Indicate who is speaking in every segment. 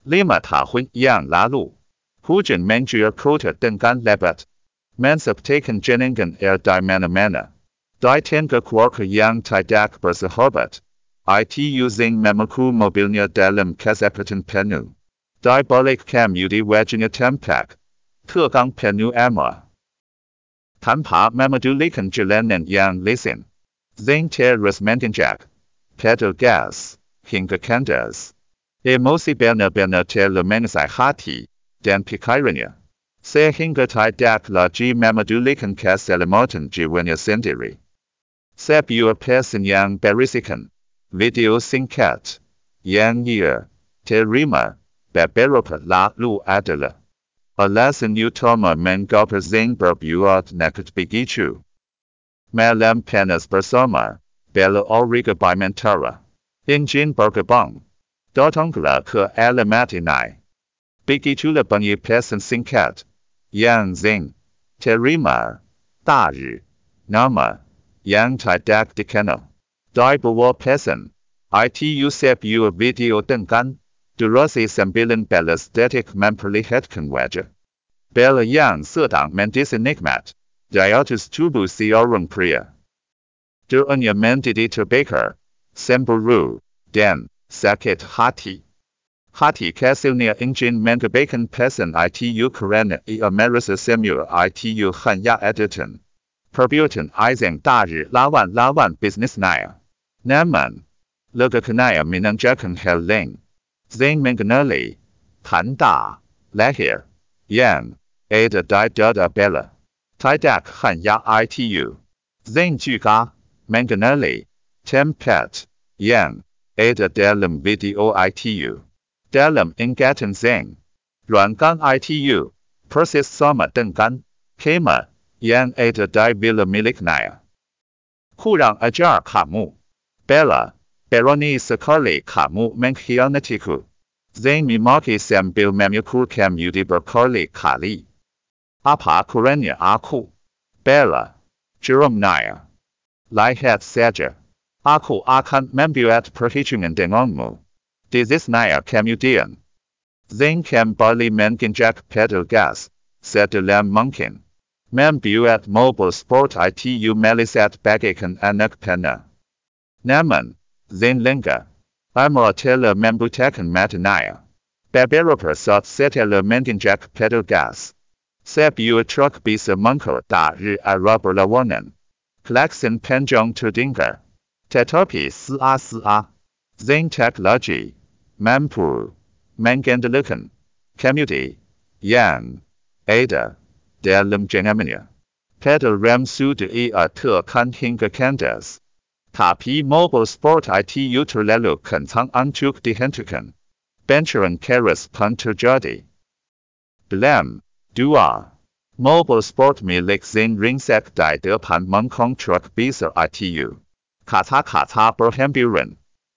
Speaker 1: Lima tahun yang lalu, hujan mengguyur kota dengan lebat. Mensabtakan jenengan di mana-mana. Di tengah keluarga yang tidak bersahabat. Itu Zeng memaku mobilnya dalam kecepatan penuh. Di balik kemudi wajahnya tampak. Tegang penuh amarah. Tanpa memedulikan jalanan yang licin. Zeng terus menginjak pedal gas hingga kandas. Emosi benar-benar telah menguasai hati dan pikirannya. Sehingga tidak lagi memedulikan keselamatan jiwanya sendiri. Sebuah pesan yang berisikan video singkat yang ia terima beberapa lalu adalah alasan utama mengapa Zeng berbuat nekat begitu. Malam panas bersama Bella Ulrika Bimentara. Injin bergebang. Datanglah ke alamat ini. Begitulah bunyi pesan singkat yang Zeng terima dari nama yang tidak dikenal. Di bawah pesan itu sebuah video dengan durasi 19 detik memperlihatkan wajah Bella yang sedang mendisi nikmat di atas tubuh seorang pria. Doanya menjadi terbakar, cemburu, dan sakit hati. Hati kecilnya ingin mengabaikan pesan itu karena ia merasa semua itu hanya editan. Perbuatan Zeng dari lawan-lawan bisnisnya. Namun, legakannya menanjakan hal lain. Zeng mengenali tanda lahir yang ada di dada Bella. Tidak hanya itu. Zeng juga mengenali tempat yang ada dalam video itu. Dalam ingatan Zeng, ruangan itu persis sama dengan kemah yang ada di villa miliknya. Kurang ajar kamu, Bella. Berani sekali kamu mengkhianatiku. Zeng memaki sambil memukul kemudi berkali-kali. Apa kurangnya aku? Bella. Jeramnya. Lihat saja. Aku akan membuat perhitungan denganmu. Desisnya kemudian. Zeng kembali menginjak pedal gas sedalam mungkin. Membuat mobil sport itu melesat bagaikan anak panah. Namun, Zeng lengah. Amarah telah membutakan matanya. Beberapa saat setelah menginjak pedal gas. Sebuah truk bisa mengker dari arah berlawanan. Klakson panjang terdengar. Tetapi sia-sia. Zeng tak lagi mampu mengendalikan kemudi yang ada dalam genggamannya. Pedal rem sudah ia tekan hingga kandas. Tapi mobil sport itu terlalu kencang untuk dihentikan. Benturan keras pun terjadi. Dalam 2. Mobil sport milik Zeng ringsek di depan mengkong truk besar itu. Kata-kata berhamburan.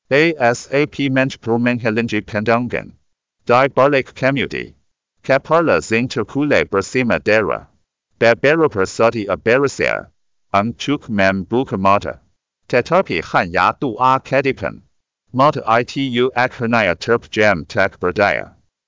Speaker 1: ASAP mencoba menghalangi pandangan. Di balik kemudi. Kepala Zeng terkulai bersama darah. Beberapa saat ia berusaha untuk membuka mata. Tetapi hanya 2 kedipan. Mata itu akhirnya terpejam tak berdaya.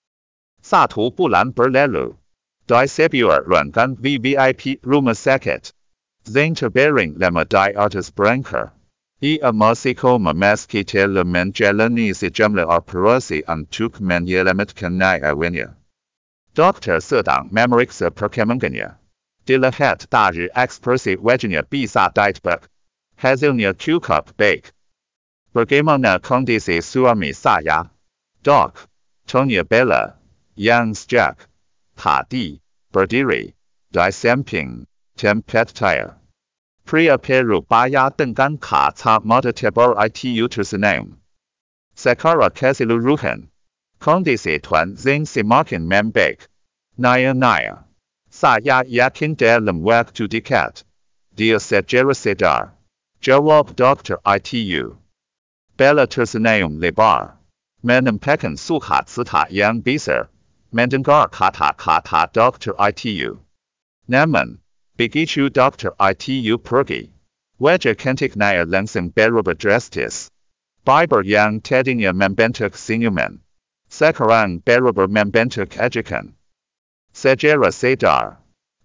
Speaker 1: 1 bulan berlalu. Di sebuah ruangan VVIP rumah sakit. Zeng terbaring lama di atas berangkar. Ia masih koma meski telah menjalani sejumlah operasi untuk menyelamatkan nyawanya. Dokter sedang memeriksa perkembangannya. Dilihat dari ekspresi wajahnya bisa ditebak. Hasilnya cukup baik. Bagaimana kondisi suami saya? Dok, tanya Bella, yang sejak tadi berdiri di samping tempat tire. Pria berubah dengan kacamata tebal itu tersenyum. Secara keseluruhan, kondisi Tuan Zeng semakin membaik. Naya. Saya yakin dalam waktu dekat. Dia segera sadar. Jawab dokter itu. Bella tersenyum lebar. Menampakkan sukacita yang besar. Mendengar kata-kata dokter itu. Namun, begitu dokter itu pergi. Wajah cantiknya langsung berubah drastis. Bibir yang tadinya membentuk senyuman. Sekarang Barabar membentuk ajakan. Segera sadar.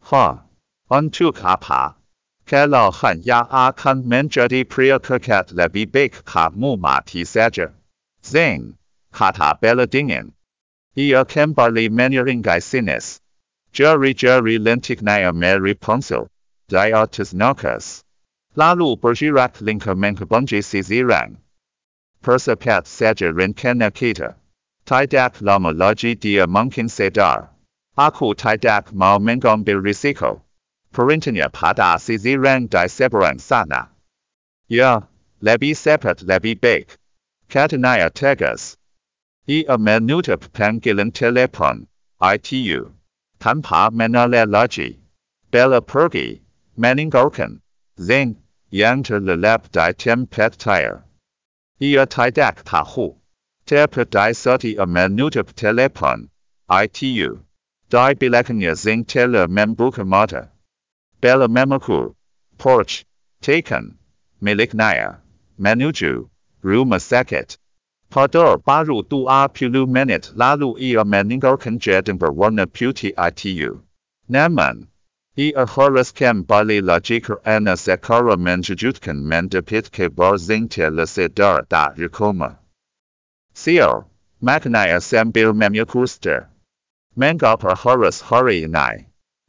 Speaker 1: Untuk apa? Kalau hanya akan menjadi pria kekal lebih baik kamu mati saja. Zain, kata Bella dingin. Ia kembali menyeringkai sinis. Jari-jari lentiknya meri ponsel. Di atas nakas. Lalu bergerak lingkar menghubungi sisiran. Percepat saja rencana kita. Tidak lama lagi dia mungkin sadar. Aku tidak mau mengambil risiko. Perintahnya pada sisiran di seberang sana. Ya, lebih cepat lebih baik. Katanya tegas. Ia menutup panggilan telepon. ITU. Tanpa menoleh lagi. Bella pergi. Meninggalkan. Zain, yang terlelap di tempat tire. Ia tidak tahu. Tepat saat ia menutup telepon. ITU. Di belakangnya Zain telah membuka mata. Bella memikul. Porch. Taken. Miliknya. Menuju. Rumah sakit. Pada baru 20 menit lalu ia meninggalkan gedung berwarna putih ITU. Namun, ia harus kembali lagi karena sekarang menjujutkan mendapat kabar Zain telah sadar dari koma. Sial, maknanya sambil memikul stir. Mengapa harus hari ini?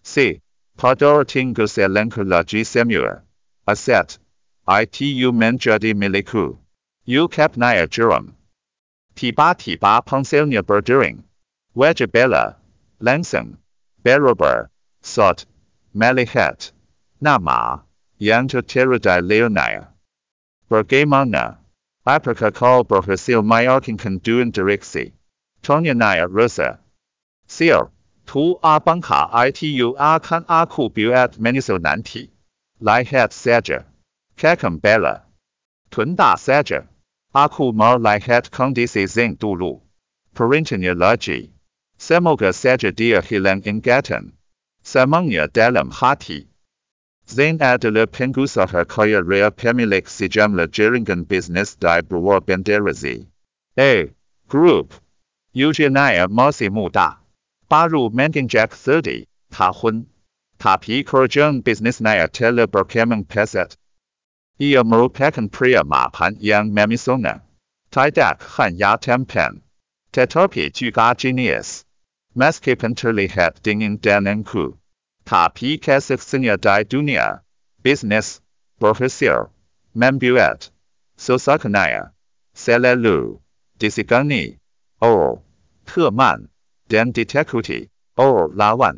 Speaker 1: Pada tinggal selangkah lagi semua. Aset. ITU menjadi milikku. Ukapnya jeram. Tiba-tiba ponselnya berdering. Wajah Bella. Langsung. Barabar. Saat. Melihat. Nama. Yang tertera di layarnya. Bagaimana? Apakah kau berhasil meyakinkan Tuan Direksi? Tanyanya Rosa. Sial. Bangka ITU akan aku buat menyusul nanti. Lihat saja. Kakam Bella. Tunda saja. Aku mau lihat kondisi Zain dulu. Perintahnya lagi. Semoga saja dia hilang ingatan. Semuanya dalam hati. Zain adalah pengusaha kaya raya pemilik sejumlah jaringan bisnis di bawah bendera Z. Group. Ujiannya masih muda. Baru menginjak 30 tahun. Tapi kerjaan bisnisnya telah berkembang pesat. Ia merupakan pria mapan yang memisona. Tidak hanya tampan. Tetapi juga jenius. Meskipun terlihat dingin dan angkuh. Tapi kesaksiannya di dunia. Bisnis. Berhasil. Membuat. Sosoknya. Selalu. Disegani. Teman. Dan ditakuti. Lawan.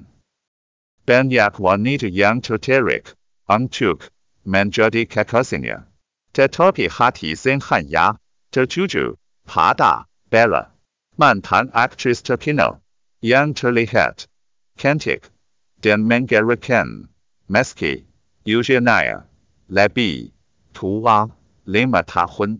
Speaker 1: Banyak wanita yang tertarik. Untuk. Menjadi kekasihnya. Tetapi hati Zain hanya. Tertuju. Pada. Bella. Mantan aktris terkenal. Yang terlihat. Cantik. Dan menggerakkan. Meski. Ujiannya. Lebih. Tua. 5 tahun.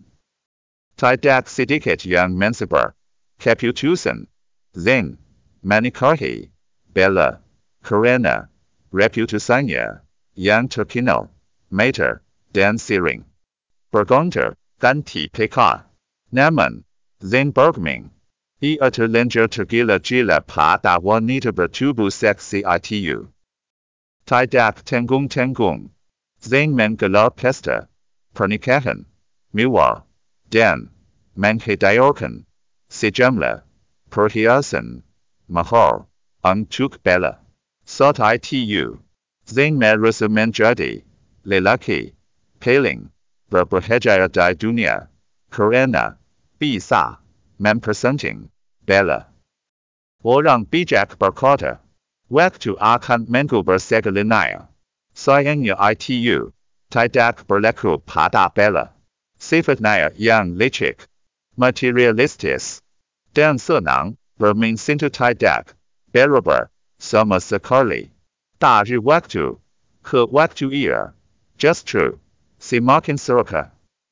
Speaker 1: Tidak sedikit yang mensabar. Keputusan. Zain. Menikahi. Bella. Karena. Reputasinya. Yang terkenal. Meter. Dan sering. Bergontar. Ganti PK. Namun. Zain bergeming. Ia terlanjur tergila-gila pada wanita bertubuh seksi ITU. Tidak tanggung-tanggung. Zain menggelar pesta. Pernikahan. Mewah. Dan. Menghadiahkan. Sejumlah. Perhiasan. Mahal. Untuk Bella. Saat ITU. Zain merasa menjadi. Lelaki. Paling. Berbahagia di dunia. Karena. Bisa. Mempersunting. Bella. Orang bijak berkata. Waktu akan mengubah segalanya. Sayangnya ITU. Tidak berlaku pada Bella. Sifatnya yang licik. Materialistis. Dan senang. Bermain cinta tidak. Berabar. Sama sekali. Dari waktu. Ke waktu ia. Justru. Semakin suka.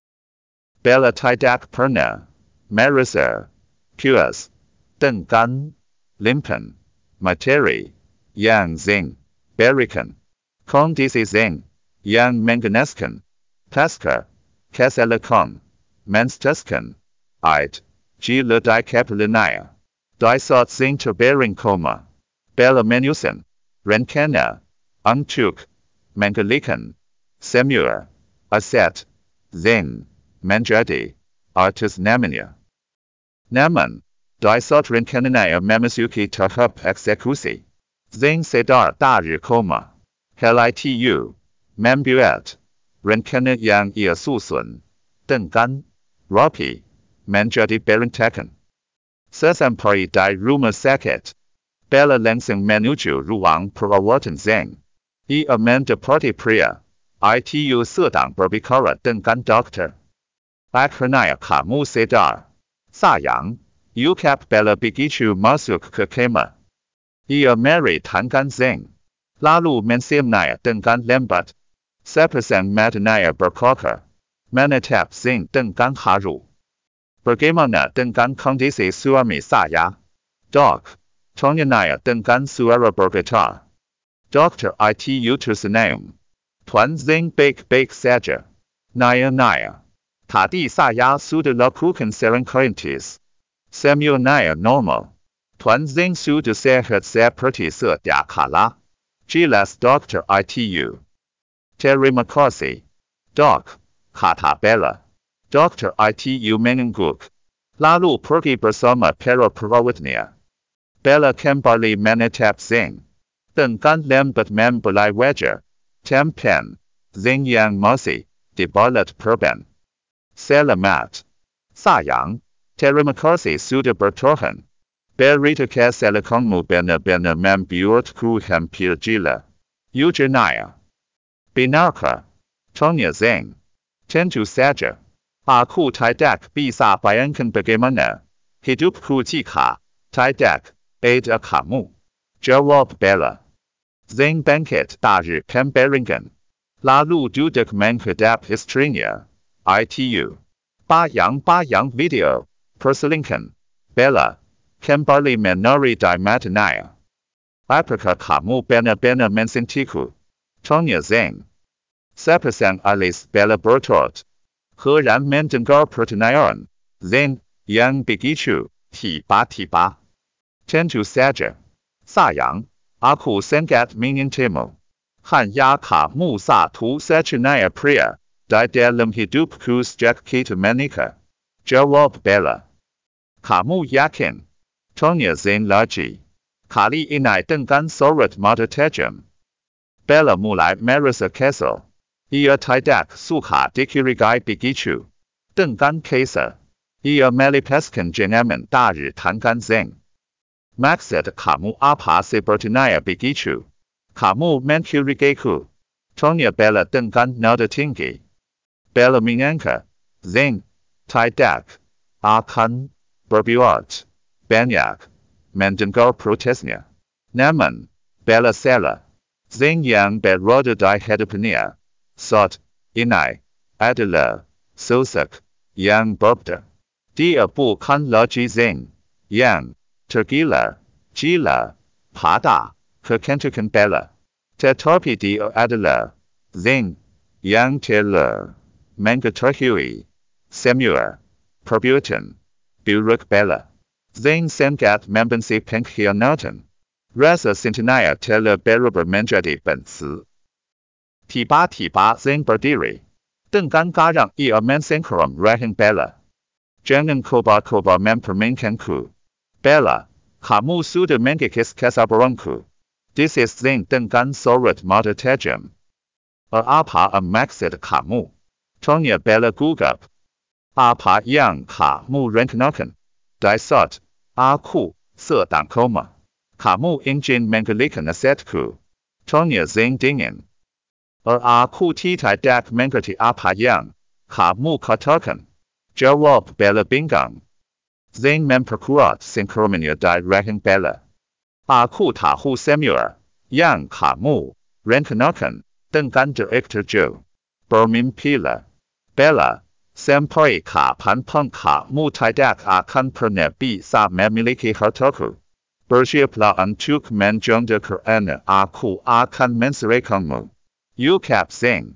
Speaker 1: Bella tidak pernah. Merasa. Puas. Dengan. Limpan. Materi. Yang Zain. Berikan. Kondisi Zain. Yang mengganaskan. Pasca. Kesalahan. Menstatuskan. Gila di kepalanya. Disot zinc bearing coma. Bella Menusen, Renkena, Untuk, Mangalikan, Semur, Aset, Zin, Manjadi, Artus Namania. Naman, Disot Renkenania Memasuki Tahup Execusi. Zing Sedar Dari Coma. Helitu, Membuet, Renkena Yang Ia Susun, Dengan, Ropi, Manjadi Berentakan. Sesampari Di Rumah Sakit. Bella Langsung Menuju Ruang Perawatan Zeng. Amanda Party Pria. Itu sedang berbicara dengan dokter. Akhirnya kamu sadar. Sayang, Ukap Bella begitu masuk ke kamar. Mary tangan Zeng. Lalu mensiamnya dengan lembat. Sepasang matanya berkokar. Menatap Zeng dengan haru. Bagaimana dengan kondisi suami saya? Dok. Tanyanya dengan suara bergetar. Dokter itu tersenyum. Tuan Zeng baik-baik saja. Naya. Tadi saya sudah lakukan serangkaian semuanya normal. Tuan Zeng sudah sehat seperti sedia kala. Jelas Dokter itu. Terima kasih. Dok, kata Bella. Dokter itu mengangguk. Lalu pergi bersama para perawatnya. Bella kembali menatap Zeng. Dengan lembat membelai wajah. Tampan. Zeng yang masih dibalut perban. Selamat. Sayang. Terima kasih sudah bertahan. Berita kesehatanmu benar-benar membuatku hampir gila. Ujarnya. Benarkah? Tanya Zeng. Tentu saja. Aku tidak bisa bayangkan bagaimana hidupku jika tidak ada kamu. Jawab Bella. Zeng bangkit dari pembaringan. Lalu duduk menghadap istrinya. Itu. Bayang-bayang video. Perselingkuhan. Bella. Kembali menari di matanya. Apakah kamu benar-benar mencintiku? Tanya Zeng. Sepasang alis Bella bertot. Heran mendengar pertanyaan Zeng yang begitu tiba-tiba. Tentu saja. Sayang, aku sangat menginginkanmu. Hanya kamu satu-satunya pria di dalam hidupku sejak kita menikah. Jawab Bella. Kamu yakin? Tanya Zeng lagi. Kali ini dengan sorot mata tajam. Bella mulai merasa kesal. Ia tidak suka dicurigai begitu. Dengan kesal. Ia melepaskan genggaman dari tangan Zeng. Maksud kamu apa sepertinya begitu? Kamu mencurigaiku. Tanya Bella dengan nada tinggi. Bella menyangka. Zeng. Tidak. Akan. Berbuat. Banyak. Mendengar protesnya. Namun. Bella salah. Zeng yang berada di hadapannya. Saat ini. Adalah. Sosok. Yang berbeda. Dia bukan lagi Zeng. Yang. Tergila, gila, pada, kecantikan Bella. Tetapi dia adalah Zeng yang telah mengetahui semua perbuatan buruk Bella. Zeng sangat membenci pengkhianatan. Rasa cintanya telah berubah menjadi benci. Tiba-tiba Zeng berdiri. Dengan garang ia mensengkeram rahang Bella. Jangan coba-coba mempermainkanku. Bella, kamu sudah mengikis kesabaranku. This is Zeng dengan sorot mata tajam. Apa maksud kamu? Tanya Bella gugup. Apa yang kamu rencanakan? Di saat aku sedang koma. Kamu ingin menggalikan asetku. Tanya Zeng dingin. Aku tidak mengerti apa yang kamu katakan. Jawab Bella bingung. Zeng memperkuat sengkeramannya di rahang Bella. Aku tahu semua yang kamu rencanakan dengan Direktur Joe. Bermimpilah. Bella, sampai kapanpun kamu tidak akan pernah bisa memiliki hartaku. Bersiaplah untuk menjanda karena aku akan menceraikanmu. Ukap Zeng.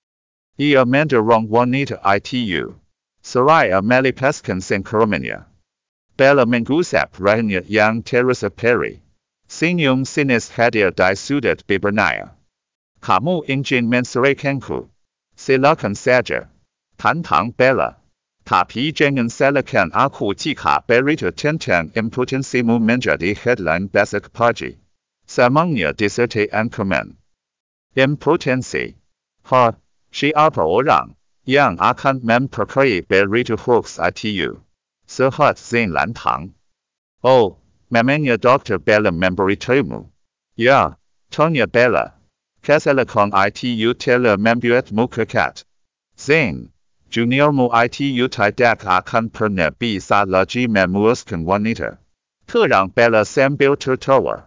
Speaker 1: Ia mendorong wanita itu. Seraya melepaskan sengkeramannya. Bella Mangusap Rahanya Yang Teresa Perry. Sinyum Sinis Hadir Di Sudat Bibernaya. Kamu Ingin Menceraikanku. Silakan saja. Tantang Bella. Tapi jangan salahkan aku jika berita tentang impotensimu menjadi headline besok pagi. Semuanya disertai ancaman. Impotensi. Siapa orang yang akan mempercayai berita hoax itu? Sehat Zain Lantang. Oh, memangnya Dr. Bella memberitahumu? Ya, tanya Bella. Kesalahan itu telah membuatmu kekat. Zain. Juniormu itu tidak akan pernah bisa lagi memuaskan wanita. Terang Bella sambil tertawa.